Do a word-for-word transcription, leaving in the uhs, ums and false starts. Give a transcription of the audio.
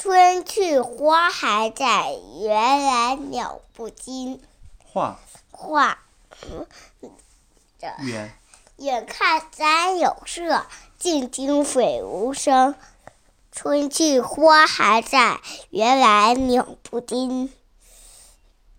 春去花还在，原来鸟不惊。 画画远远看山有色，近听水无声。春去花还在，原来鸟不惊。